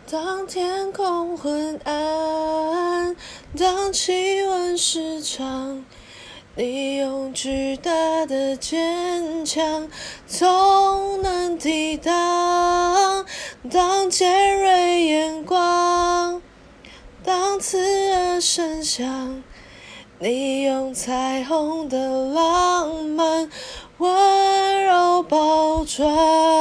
当天空昏暗，当气温失常，你用巨大的坚强总能抵挡。当尖锐眼光，当刺耳声响，你用彩虹的浪漫温柔包装。